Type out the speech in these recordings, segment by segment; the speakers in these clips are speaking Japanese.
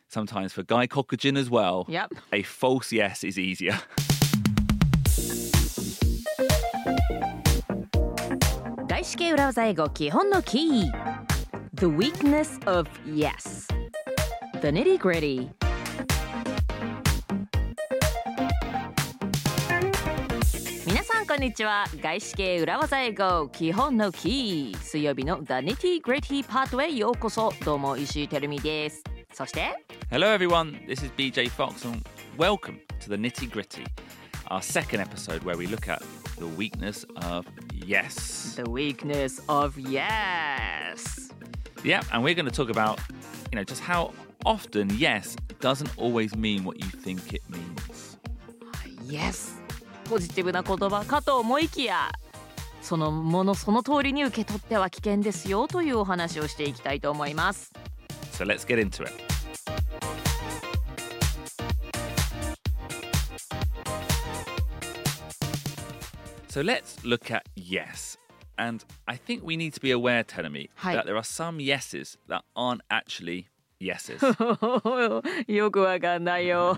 sometimes for Guy Cockagin as well, Yep. a false yes is easier. .外資系裏技英語基本のキー The weakness of yes The nitty gritty 皆さんこんにちは。外資系裏技英語基本のキー水曜日の The nitty gritty パートへようこそ。どうも石井てるみです。そして Hello everyone, this is BJ Fox and welcome to the Nitty Gritty, our second episode where we look at the weakness of yes. The weakness of yes Yeah, and we're going to talk about, just how often yes doesn't always mean what you think it means. Yes ポジティブな言葉かと思いきやそのものその通りに受け取っては危険ですよというお話をしていきたいと思います。 So let's get into it. So let's look at yes. And I think we need to be aware, Tenemi, that there are some yeses that aren't actually yeses. よくわかんないよ。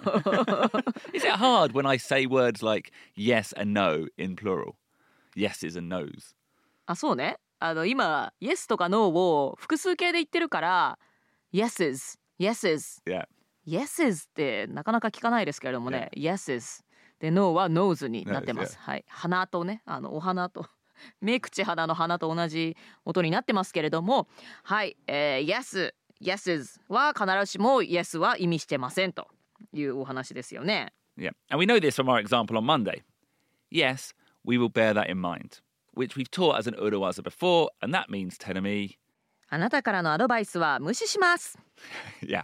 Is it hard when I say words like yes and no in plural? Yeses and nos. あ、そうね。今 yes とか no を複数形で言ってるから yeses, yeses, Yeah. yeses ってなかなか聞かないですけれどもね、yeses で no は nose になってます。はい。鼻とね、お花と目口鼻の鼻と同じ音になってますけれども、はい、yes yeses は必ずしも yes は意味してませんというお話ですよね。 Yeah. And we know this from our example on Monday. Yes, we will bear that in mind, which we've taught as an Urawaza before, and that means, Tenemi... あなたからのアドバイスは無視します。 Yeah.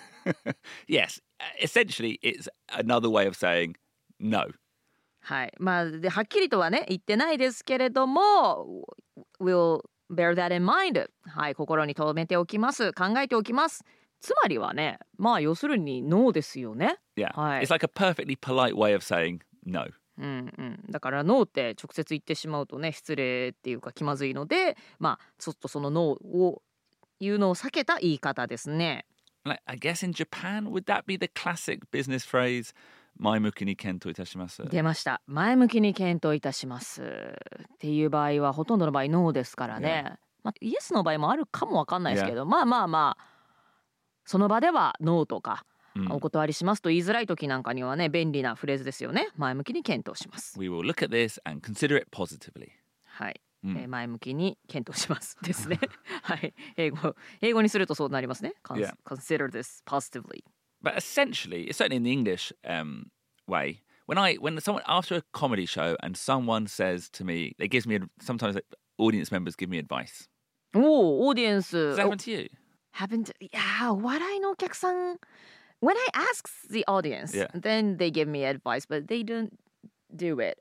Yes. Essentially, it's another way of saying no. はい。まあ、ではっきりとはね、言ってないですけれども、we'll bear that in mind はい、心に留めておきます考えておきますつまりはねまあ要するに no ですよね Yeah、 はい、 It's like a perfectly polite way of saying no だから no って直接言ってしまうとね失礼っていうか気まずいのでまあちょっとその no を言うのを避けた言い方ですね I guess in Japan would that be the classic business phrase前向きに検討いたします出ました前向きに検討いたしますっていう場合はほとんどの場合ノーですからね、まあ、イエスの場合もあるかもわかんないですけど、まあその場ではノーとか、お断りしますと言いづらい時なんかにはね便利なフレーズですよね前向きに検討します We will look at this and consider it positively はい、前向きに検討しますですねはい英語にするとそうなりますね、Consider this positively But essentially, certainly in the English way, when someone after a comedy show and someone says to me, they gives me sometimes audience members give me advice. オーディエンス Does that happen to you? Happened, yeah. 笑いのお客さん when I ask the audience, then they give me advice, but they don't do it.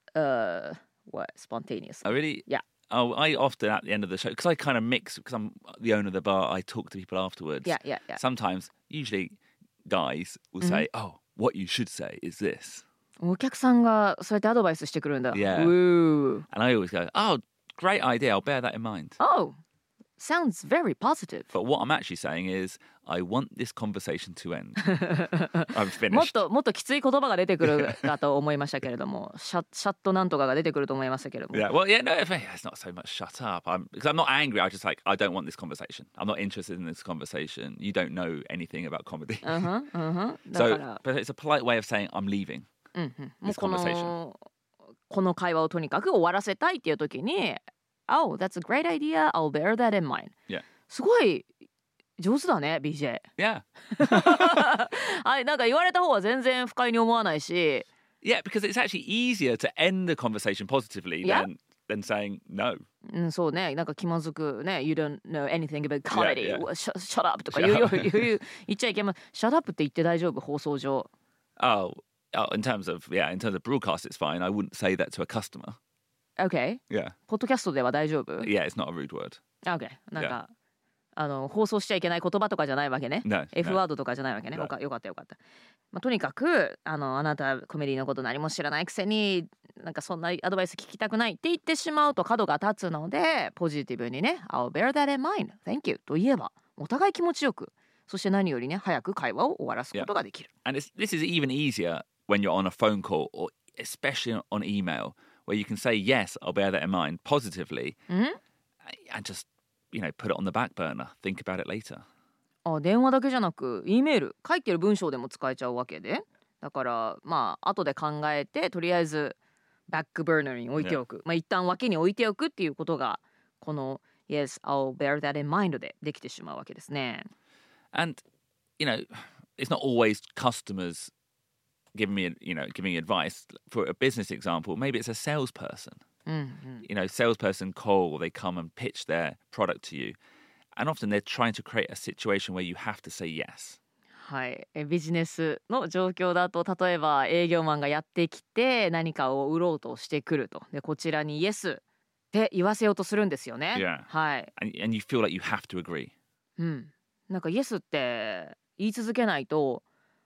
Spontaneously? Oh, really? Yeah. Oh, I often at the end of the show because I kind of mix because I'm the owner of the bar. I talk to people afterwards. Yeah. Sometimes, usually.Guys will say, oh, what you should say is this. お客さんがそうやってアドバイスしてくるんだ。 Yeah. And I always go, oh, great idea. I'll bear that in mind. Oh, sounds very positive. But what I'm actually saying is, I want this conversation to end. I'm finished. もっときつい言葉が出てくるかと思いましたけれども、シャットなんとかが出てくると思いましたけれども。 Yeah, well, yeah, no, it's not so much shut up. Because I'm not angry. I just I don't want this conversation. I'm not interested in this conversation. You don't know anything about comedy. So, but it's a polite way of saying I'm leaving this conversation. この会話をとにかく終わらせたいっていう時に、Oh, that's a great idea. I'll bear that in mind. Yeah. すごい上手だね BJ Yeah はいなんか言われた方は全然不快に思わないし Yeah because it's actually easier to end the conversation positively than saying no そうねなんか気まずくね You don't know anything about comedy、shut up とか言っちゃいけません Shut up って言って大丈夫放送上 Oh in terms of broadcast it's fine I wouldn't say that to a customer Okay Yeah ポッドキャストでは大丈夫 Yeah it's not a rude word Okay なんか、放送しちゃいけない言葉とかじゃないわけね。 No, F ワードとかじゃないわけね。よかった。まあ、とにかくあなたコメディのこと何も知らないくせになんかそんなアドバイス聞きたくないって言ってしまうと角が立つのでポジティブにね I'll bear that in mind. Thank you と言えばお互い気持ちよくそして何よりね早く会話を終わらすことができる。 And this is even easier when you're on a phone call or especially on email where you can say yes, I'll bear that in mind positively and just, put it on the back burner. Think about it later. 電話だけじゃなく E メール書いてる文章でも使えちゃうわけで、だから後で考えてとりあえずバックバーナーに置いておく、一旦脇に置いておくっていうことがこの Yes, I'll bear that in mind でできてしまうわけですね。 And, it's not always customers giving me advice. For a business example, maybe it's a salesperson. Salesperson call, they come and pitch their product to you. And often they're trying to create a situation where you have to say yes. はい、ビジネスの状況だと例えば営業マンがやってきて何かを売ろうとしてくると。でこちらに Yes って言わせようとするんですよね。 Yeah. はい。 And you feel like you have to agree. なんか Yes って言い続けないと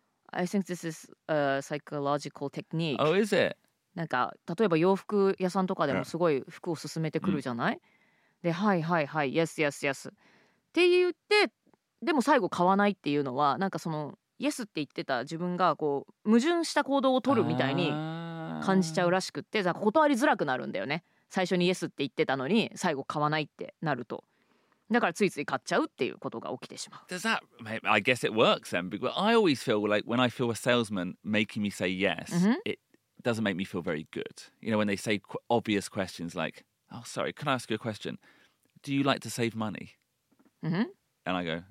I think this is a psychological technique. Oh, is it? なんか例えば洋服屋さんとかでもすごい服を勧めてくるじゃない、ではいはいはい Yes yes yes って言ってでも最後買わないっていうのはなんかその Yes って言ってた自分がこう矛盾した行動を取るみたいに感じちゃうらしくって断りづらくなるんだよね。最初に Yes って言ってたのに最後買わないってなると。だからついつい買っちゃうっていうことが起きてしまう。 Does that? I guess it works then. Because I always feel like when I feel a salesman making me say yes, it doesn't make me feel very good. When they say obvious questions like, "Oh, sorry, can I ask you a question? Do you like to save money?" And I go,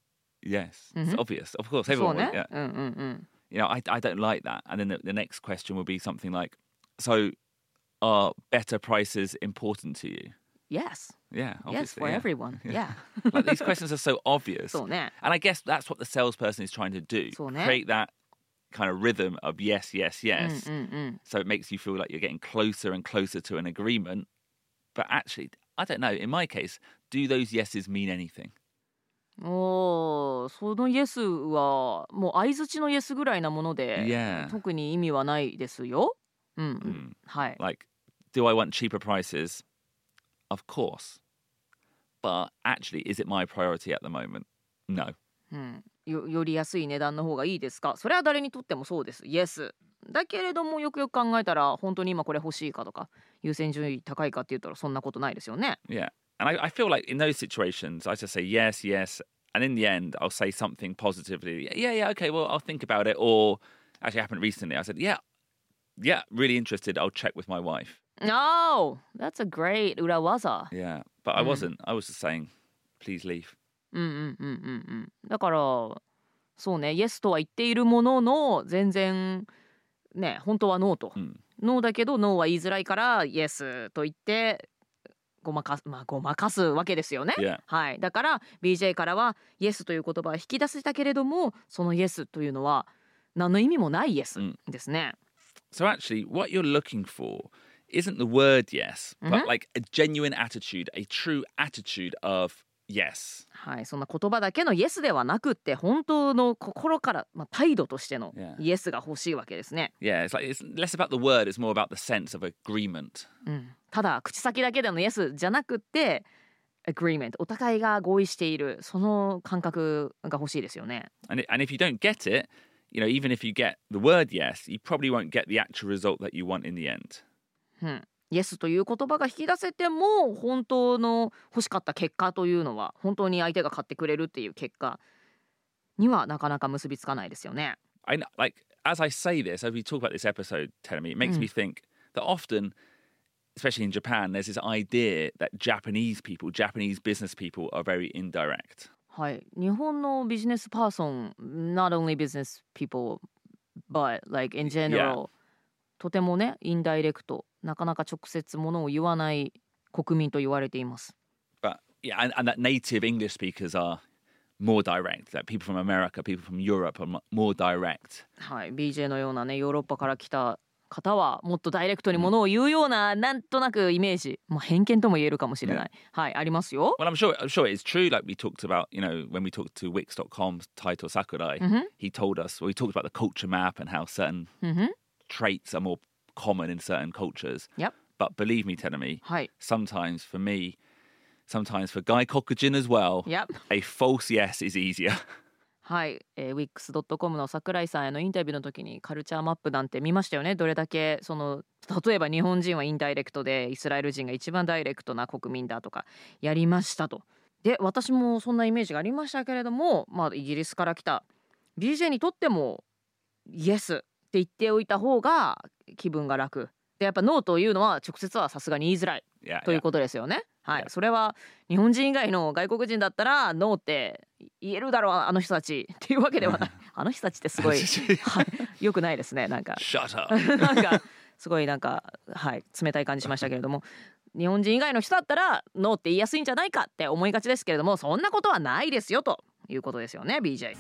"Yes, it's obvious. Of course, everyone would." Yeah. I don't like that. And then the next question will be something like, "So, are better prices important to you?" Yes. Yeah, obviously. Yes, for everyone. Yeah. Like these questions are so obvious. そうね。 And I guess that's what the salesperson is trying to do. そうね。 Create that kind of rhythm of yes, yes, yes. So it makes you feel like you're getting closer and closer to an agreement. But actually, I don't know. In my case, do those yeses mean anything? その Yes はもう相づちの Yes ぐらいなもので、 Yeah. 特に意味はないですよ。はい。 Like, do I want cheaper prices? Of course. But actually, is it my priority at the moment? No. より安い値段の方がいいですか？それは誰にとってもそうです。Yes。だけれどもよくよく考えたら本当に今これ欲しいかとか優先順位高いかって言ったらそんなことないですよね。 Yeah. And I feel like in those situations, I just say yes, yes. And in the end, I'll say something positively. Yeah, okay, well, I'll think about it. Or actually happened recently. I said, yeah, really interested. I'll check with my wife. Oh, that's a great 裏技。 Yeah, but I wasn't. I was just saying, please leave. だからそうね、Yes とは言っているものの全然ね、本当はノーと。ノーだけどノーは言いづらいから Yes と言ってごまかすわけですよね。はい。だから BJ からは Yes という言葉は引き出せたけれども、その Yes というのは何の意味もない Yes ですね。 So actually, what you're looking for isn't the word yes, but like a genuine attitude, a true attitude of yes. はい、そんな言葉だけの Yes ではなくって本当の心から、態度としての Yes が欲しいわけですね。 Yeah, it's less about the word, it's more about the sense of agreement. ただ口先だけでの Yes じゃなくって agreement、お互いが合意しているその感覚が欲しいですよね。 And if you don't get it, even if you get the word yes, you probably won't get the actual result that you want in the end. Yes という言葉が引き出せても本当の欲しかった結果というのは本当に相手が買ってくれるっていう結果にはなかなか結びつかないですよね。 I know, like as I say this, as we talk about this episode, Terumi, it makes me think that often, especially in Japan, there's this idea that Japanese business people are very indirect. はい、日本のビジネスパーソン not only business people but like in general、とてもねインダイレクトなかなか直接ものを言わない国民と言われています。 But yeah, and that native English speakers are more direct. That people from America, people from Europe are more direct. はい、BJ のようなねヨーロッパから来た方はもっとダイレクトにものを言うような、なんとなくイメージ、偏見とも言えるかもしれない。はい、ありますよ。 Well, I'm sure it's true. Like we talked about, when we talked to Wix.com's Taito Sakurai, he told us, we talked about the culture map and how certain traits are more common in certain cultures. Yep. But believe me, Terumi, はい。 sometimes for me, sometimes for Guy Cockagin as well, Yep. a false yes is easier. はい、wix.com の桜井さんへのインタビューの時にカルチャーマップなんて見ましたよね。どれだけその例えば日本人はインダイレクトでイスラエル人が一番ダイレクトな国民だとかやりましたと。で私もそんなイメージがありましたけれども、イギリスから来た BJ にとってもイエスって言っておいた方が気分が楽で、やっぱノーというのは直接はさすがに言いづらいということですよね。はい、それは日本人以外の外国人だったらノーって言えるだろうあの人たちっていうわけではないあの人たちってすごい、はい、よくないですね。なんかなんかすごいなんか、はい、冷たい感じしましたけれども日本人以外の人だったらノーって言いやすいんじゃないかって思いがちですけれども、そんなことはないですよということですよね BJ。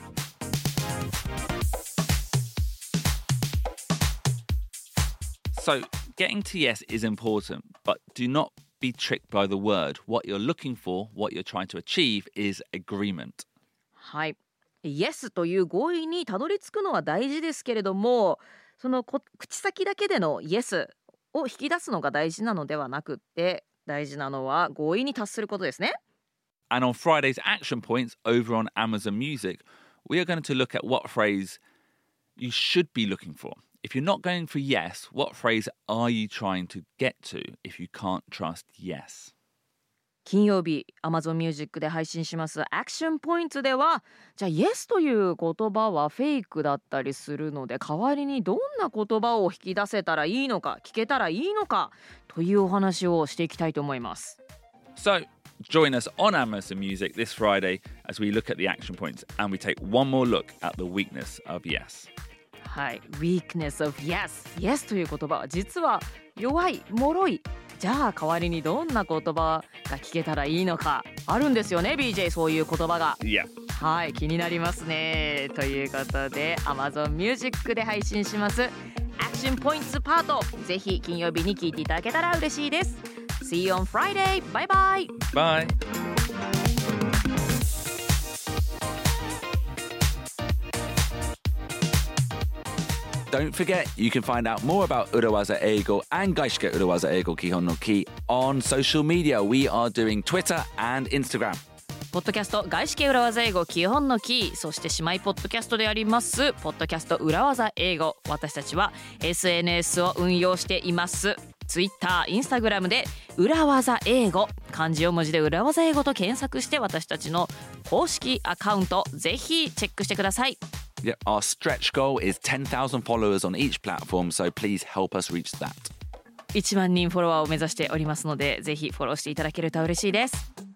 So, getting to yes is important, but do not be tricked by the word. What you're looking for, what you're trying to achieve is agreement. はい、yes という合意にたどり着くのは大事ですけれども、その口先だけでの yes を引き出すのが大事なのではなくって、大事なのは合意に達することですね。 And on Friday's action points over on Amazon Music, we are going to look at what phrase you should be looking for.If you're not going for yes, what phrase are you trying to get to if you can't trust yes? 金曜日 Amazon Music で配信しますアクションポイントでは、じゃあ yes という言葉はフェイクだったりするので、代わりにどんな言葉を引き出せたらいいのか、聞けたらいいのかというお話をしていきたいと思います。 So, join us on Amazon Music this Friday as we look at the action points and we take one more look at the weakness of yes. はい、weakness of yes という言葉は実は弱い、脆い。じゃあ代わりにどんな言葉が聞けたらいいのかあるんですよね BJ、 そういう言葉が。 Yeah. はい、気になりますね。ということで Amazon Music で配信しますアクションポイントパート、ぜひ金曜日に聞いていただけたら嬉しいです。 See you on Friday. Bye bye. Bye.Don't forget, you can find out more about Urawaza Eigo and Gaishike Urawaza Eigo Kihon no Ki on social media. We are doing Twitter and Instagram. ポッドキャスト外資系裏技英語基本のキー、そして姉妹ポッドキャストでありますポッドキャスト裏技英語、私たちは SNS を運用しています。 Twitter、Instagram で裏技英語、漢字4文字で裏技英語と検索して私たちの公式アカウントぜひチェックしてください。 Yeah, our stretch goal is 10,000 followers on each platform, so please help us reach that. 1万人フォロワーを目指しておりますので、ぜひフォローしていただけると嬉しいです。